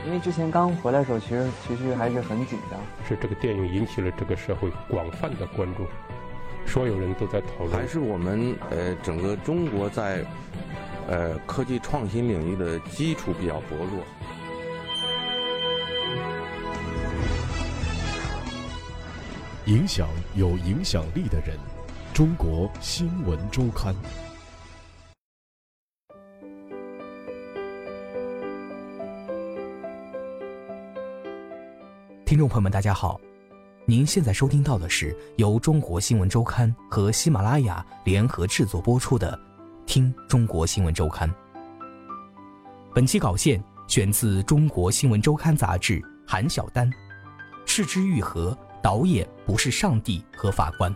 因为之前刚回来的时候，其实还是很紧张。 是这个电影引起了这个社会广泛的关注，所有人都在讨论。 还是我们整个中国在科技创新领域的基础比较薄弱。 影响有影响力的人，中国新闻周刊。 听众朋友们，大家好，您现在收听到的是由中国新闻周刊和喜马拉雅联合制作播出的《听中国新闻周刊》。本期稿件选自《中国新闻周刊》杂志，韩晓丹。是之愈合，导演不是上帝和法官。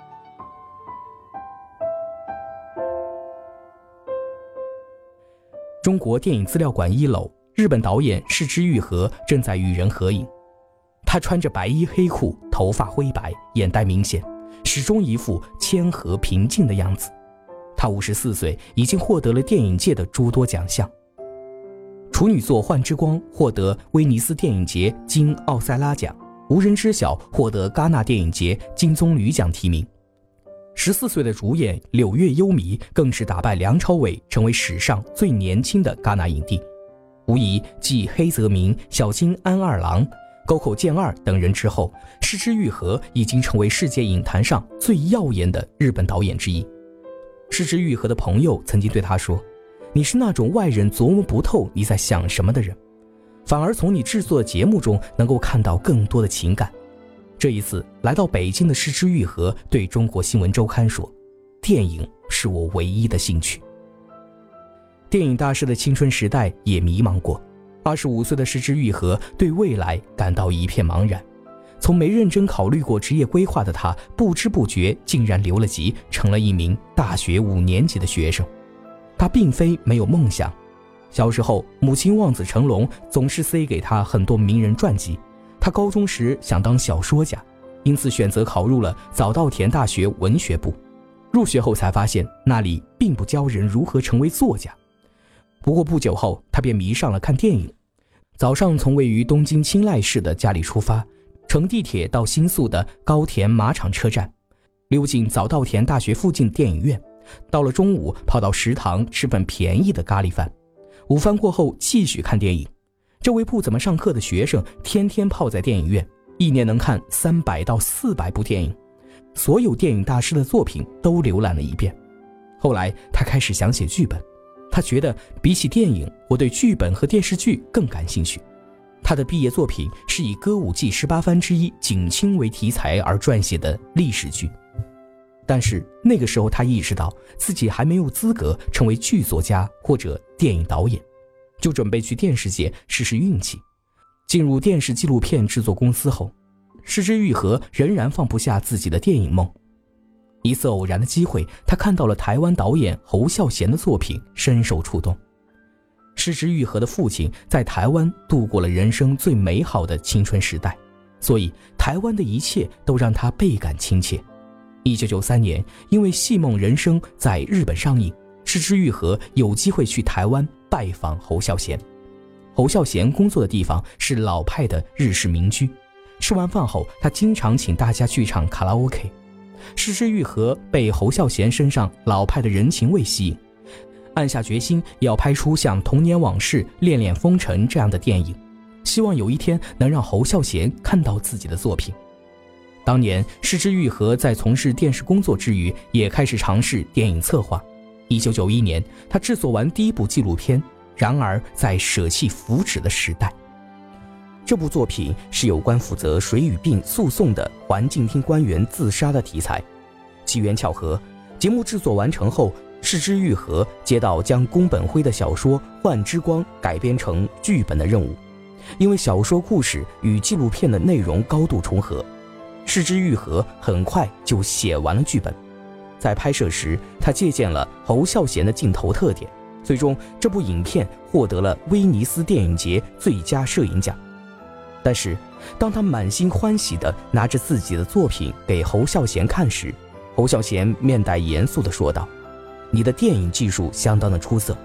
中国电影资料馆1楼，日本导演是之愈合正在与人合影。他穿着白衣黑裤，头发灰白，眼袋明显，始终一副谦和平静的样子。他54岁，已经获得了电影界的诸多奖项。处女作《幻之光》获得威尼斯电影节金奥赛拉奖，无人知晓获得戛纳电影节金棕榈奖提名。14岁的主演柳月优弥更是打败梁朝伟，成为史上最年轻的戛纳影帝。无疑继黑泽明、小津安二郎、沟口健二等人之后，是之愈合已经成为世界影坛上最耀眼的日本导演之一。是之愈合的朋友曾经对他说，你是那种外人琢磨不透你在想什么的人，反而从你制作的节目中能够看到更多的情感。这一次来到北京的是之愈合对中国新闻周刊说，电影是我唯一的兴趣。电影大师的青春时代也迷茫过，25岁的是之愈合对未来感到一片茫然。从没认真考虑过职业规划的他，不知不觉竟然留了级，成了一名大学5年级的学生。他并非没有梦想，小时候母亲望子成龙，总是塞给他很多名人传记。他高中时想当小说家，因此选择考入了早稻田大学文学部。入学后才发现那里并不教人如何成为作家。不过不久后他便迷上了看电影。早上从位于东京青濑市的家里出发，乘地铁到新宿的高田马场车站，溜进早稻田大学附近电影院。到了中午跑到食堂吃份便宜的咖喱饭，午饭过后继续看电影。这位不怎么上课的学生天天泡在电影院，一年能看300到400部电影，所有电影大师的作品都浏览了一遍。后来他开始想写剧本，他觉得比起电影，我对剧本和电视剧更感兴趣。他的毕业作品是以歌舞伎18番之一景清为题材而撰写的历史剧。但是那个时候他意识到自己还没有资格成为剧作家或者电影导演，就准备去电视界试试运气。进入电视纪录片制作公司后，是之愈合仍然放不下自己的电影梦。一次偶然的机会，他看到了台湾导演侯孝贤的作品，深受触动。是之愈合的父亲在台湾度过了人生最美好的青春时代，所以台湾的一切都让他倍感亲切。1993年，因为《戏梦人生》在日本上映，是之愈合有机会去台湾拜访侯孝贤。侯孝贤工作的地方是老派的日式民居，吃完饭后他经常请大家去唱卡拉 OK。 是之愈合被侯孝贤身上老派的人情味吸引，暗下决心要拍出像《童年往事》《恋恋风尘》这样的电影，希望有一天能让侯孝贤看到自己的作品。当年是之愈合在从事电视工作之余，也开始尝试电影策划。1991年他制作完第一部纪录片《然而在舍弃福祉的时代》。这部作品是有关负责水俣病诉讼的环境厅官员自杀的题材。机缘巧合，节目制作完成后，是之愈合接到将宫本辉的小说《幻之光》改编成剧本的任务。因为小说故事与纪录片的内容高度重合，是之愈合很快就写完了剧本。在拍摄时，他借鉴了侯孝贤的镜头特点，最终这部影片获得了威尼斯电影节最佳摄影奖。但是当他满心欢喜地拿着自己的作品给侯孝贤看时，侯孝贤面带严肃地说道，你的电影技术相当的出色，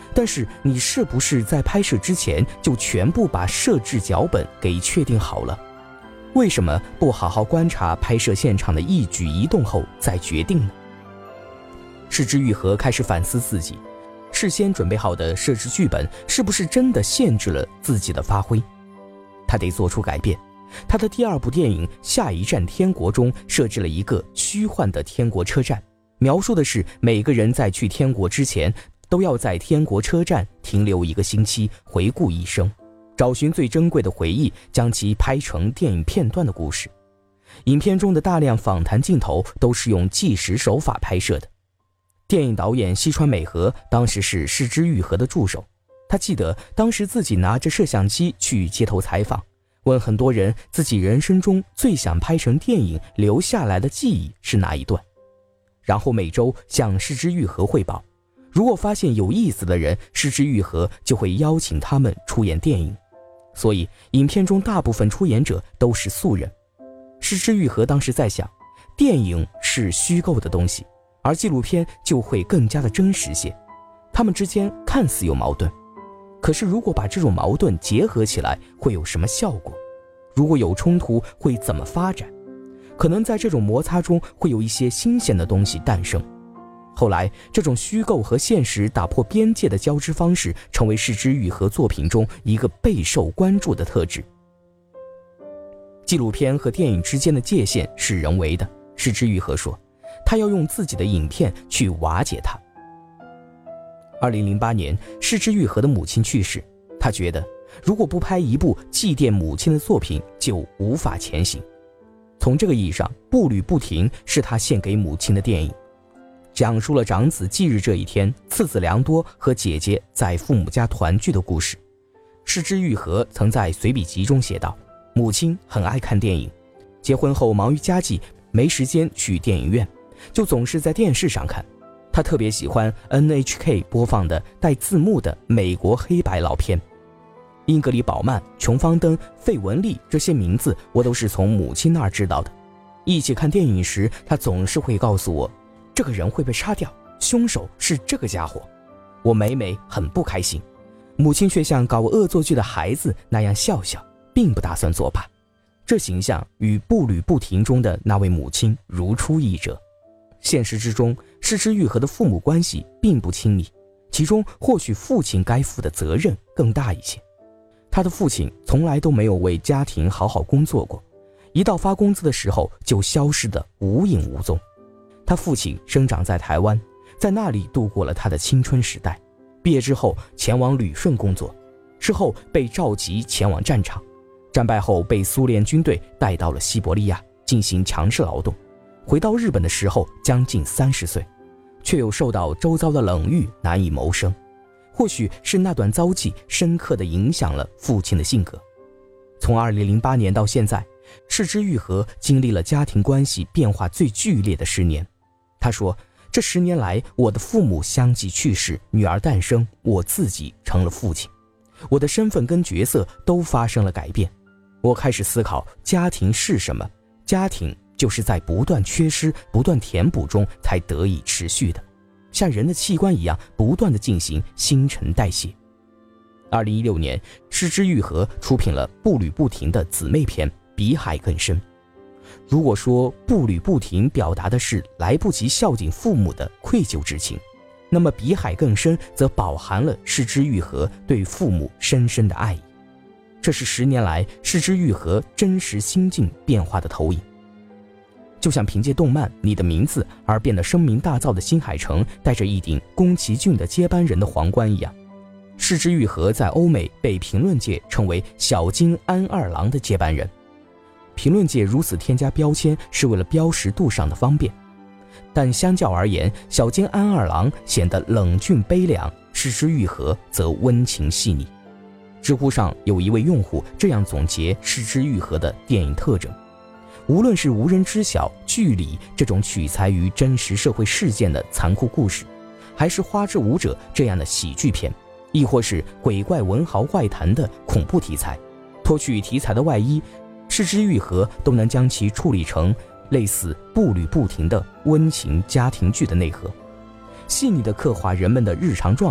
但是你是不是在拍摄之前就全部把摄制脚本给确定好了？为什么不好好观察拍摄现场的一举一动后再决定呢？是枝裕和开始反思自己，事先准备好的摄制剧本是不是真的限制了自己的发挥？他得做出改变。他的第2部电影《下一站天国》中设置了一个虚幻的天国车站，描述的是每个人在去天国之前都要在天国车站停留1个星期，回顾一生，找寻最珍贵的回忆，将其拍成电影片段的故事。影片中的大量访谈镜头都是用纪实手法拍摄的。电影导演西川美和当时是是枝裕和的助手，他记得当时自己拿着摄像机去街头采访，问很多人自己人生中最想拍成电影留下来的记忆是哪一段，然后每周向是枝裕和汇报，如果发现有意思的人，是枝裕和就会邀请他们出演电影。所以影片中大部分出演者都是素人。是枝裕和当时在想，电影是虚构的东西，而纪录片就会更加的真实些，他们之间看似有矛盾，可是如果把这种矛盾结合起来，会有什么效果？如果有冲突，会怎么发展？可能在这种摩擦中会有一些新鲜的东西诞生。后来，这种虚构和现实打破边界的交织方式，成为是枝裕和作品中一个备受关注的特质。纪录片和电影之间的界限是人为的，是枝裕和说，他要用自己的影片去瓦解它。2008年，是枝裕和的母亲去世，他觉得如果不拍一部祭奠母亲的作品，就无法前行。从这个意义上，《步履不停》是他献给母亲的电影，讲述了长子忌日这一天，次子良多和姐姐在父母家团聚的故事。是枝裕和曾在随笔集中写道，母亲很爱看电影，结婚后忙于家计，没时间去电影院，就总是在电视上看。他特别喜欢 NHK 播放的带字幕的美国黑白老片。英格里·宝曼、琼·方登、费雯丽这些名字我都是从母亲那儿知道的。一起看电影时，他总是会告诉我，这个人会被杀掉，凶手是这个家伙。我每每很不开心，母亲却像搞恶作剧的孩子那样笑笑，并不打算作罢。这形象与《步履不停》中的那位母亲如出一辙。现实之中，是枝裕和的父母关系并不亲密，其中或许父亲该负的责任更大一些。他的父亲从来都没有为家庭好好工作过，一到发工资的时候就消失得无影无踪。他父亲生长在台湾，在那里度过了他的青春时代，毕业之后前往旅顺工作，之后被召集前往战场，战败后被苏联军队带到了西伯利亚进行强制劳动，回到日本的时候将近30岁，却又受到周遭的冷遇，难以谋生。或许是那段遭际深刻地影响了父亲的性格。从2008年到现在，是枝裕和经历了家庭关系变化最剧烈的10年。他说，这10年来，我的父母相继去世，女儿诞生，我自己成了父亲，我的身份跟角色都发生了改变。我开始思考家庭是什么，家庭就是在不断缺失、不断填补中才得以持续的，像人的器官一样不断地进行新陈代谢。2016年，是枝裕和出品了《步履不停》的姊妹篇《比海更深》。如果说《步履不停》表达的是来不及孝敬父母的愧疚之情，那么《比海更深》则饱含了是枝裕和对父母深深的爱意。这是10年来是枝裕和真实心境变化的投影。就像凭借动漫《你的名字》而变得声名大噪的新海诚戴着一顶宫崎骏的接班人的皇冠一样，是枝裕和在欧美被评论界称为小津安二郎的接班人。评论界如此添加标签是为了标识度上的方便，但相较而言，小津安二郎显得冷峻悲凉，是枝裕和则温情细腻。知乎上有一位用户这样总结是枝裕和的电影特征，无论是无人知晓、剧里这种取材于真实社会事件的残酷故事，还是花之舞者这样的喜剧片，亦或是鬼怪文豪外谈的恐怖题材，脱去题材的外衣，是枝裕和都能将其处理成类似步履不停的温情家庭剧的内核，细腻地刻画人们的日常状态，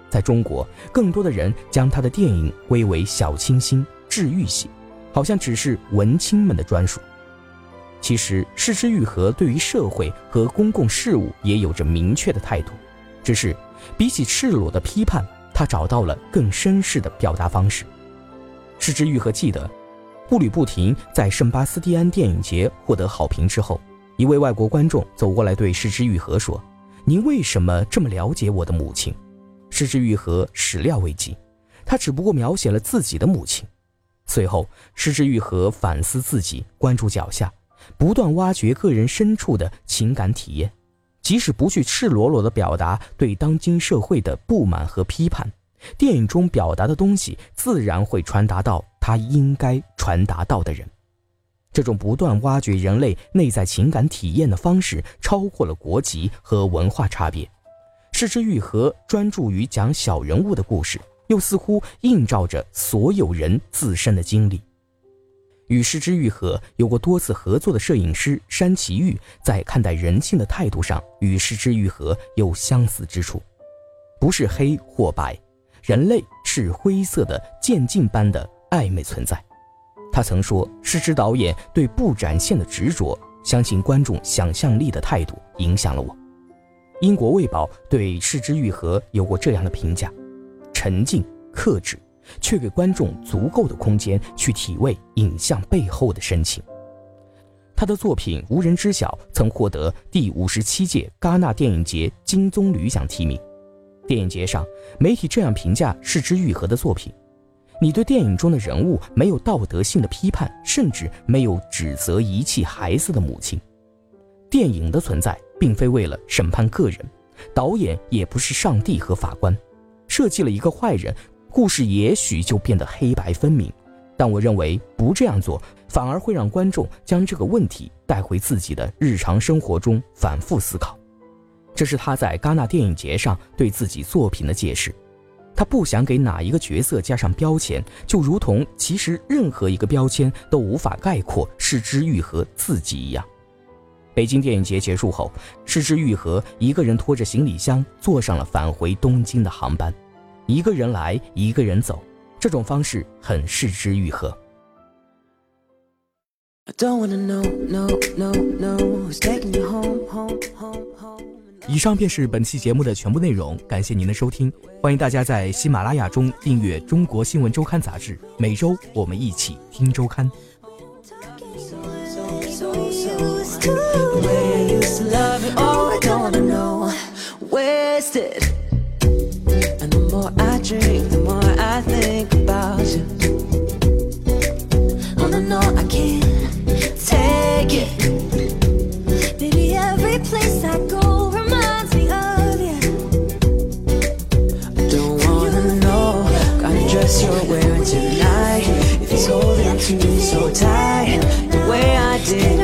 在中国，更多的人将他的电影归为小清新、治愈系，好像只是文青们的专属。其实是枝裕和对于社会和公共事务也有着明确的态度，只是比起赤裸的批判，他找到了更绅士的表达方式。是枝裕和记得，步履不停在圣巴斯蒂安电影节获得好评之后，一位外国观众走过来对是枝裕和说：“您为什么这么了解我的母亲？”是枝裕和始料未及，他只不过描写了自己的母亲。随后，是枝裕和反思自己，关注脚下，不断挖掘个人深处的情感体验，即使不去赤裸裸地表达对当今社会的不满和批判，电影中表达的东西自然会传达到他应该传达到的人。这种不断挖掘人类内在情感体验的方式超过了国籍和文化差别。是枝裕和专注于讲小人物的故事，又似乎映照着所有人自身的经历。与是枝裕和有过多次合作的摄影师山崎玉，在看待人性的态度上与是枝裕和有相似之处。不是黑或白，人类是灰色的渐进般的暧昧存在。他曾说，是枝导演对不展现的执着，相信观众想象力的态度影响了我。英国卫报对是枝裕和有过这样的评价：沉静克制，却给观众足够的空间去体味影像背后的深情。他的作品无人知晓曾获得第57届戛纳电影节金棕榈奖提名。电影节上，媒体这样评价是枝裕和的作品：你对电影中的人物没有道德性的批判，甚至没有指责遗弃孩子的母亲。电影的存在并非为了审判个人，导演也不是上帝和法官，设计了一个坏人，故事也许就变得黑白分明。但我认为不这样做，反而会让观众将这个问题带回自己的日常生活中反复思考。这是他在戛纳电影节上对自己作品的解释。他不想给哪一个角色加上标签，就如同其实任何一个标签都无法概括是枝裕和自己一样。北京电影节结束后，是枝裕和一个人拖着行李箱坐上了返回东京的航班，一个人来一个人走，这种方式很是枝裕和。以上便是本期节目的全部内容，感谢您的收听，欢迎大家在喜马拉雅中订阅中国新闻周刊杂志，每周我们一起听周刊。The way I used to love you, oh, I don't wanna know, wasted. And the more I drink, the more I think about you. Oh no, no, I can't take it. Baby, every place I go reminds me of you. I don't wanna know kind of dress you're wearing tonight. If it's holding on to you so tight, the way I did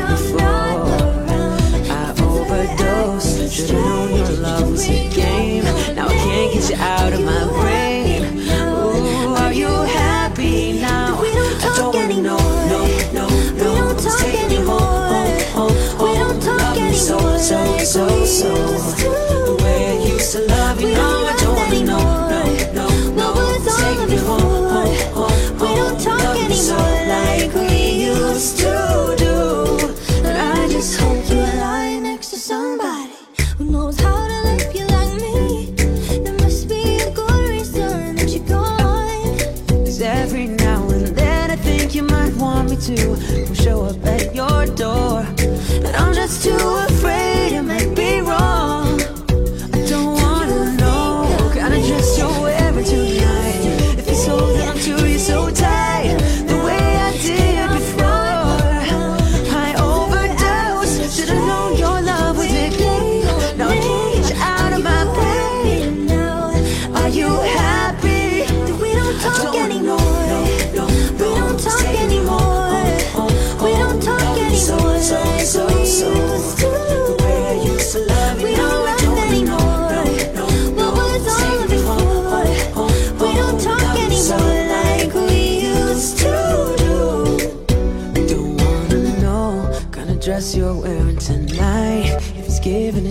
before.Should've known your love was a game. Now I can't get you out of my brain. Ooh, are you happy now? I don't wanna know, no, no, no. Who's taking you home, home, home? We don't talk anymore. So the way I used to love you, no, I don't wanna know, no, no, no. Who's taking you home, home, home? We don't talk anymore like we used to do. But I just hope you lie next to somebody.Who knows how to love you like me? There must be a good reason that you're gone. 'Cause every now and then I think you might want me to show up at your door, but I'm just too afraid it might be wrong. I don't wanna know kind of dress you're wearing tonight. If it's holding on to you so tight, the way I did before. I overdosed, should've known your love was a game.Now I can't get you out of my brain. Are you happy that we don't talk anymore? We don't talk anymore. We don't talk anymore like we used to.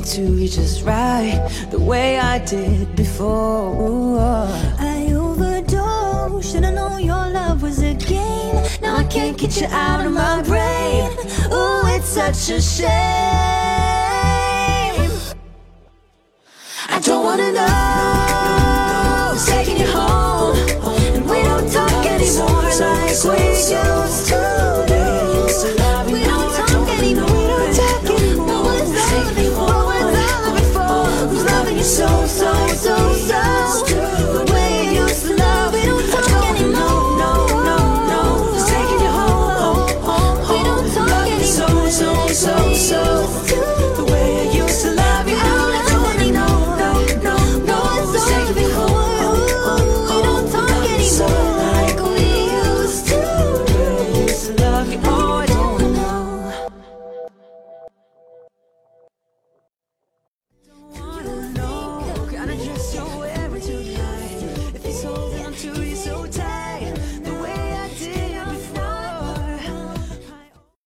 to you just right, the way I did before. Ooh, I overdosed, should've known your love was a game. Now I can't get you out of my brain. Ooh, it's such a shame.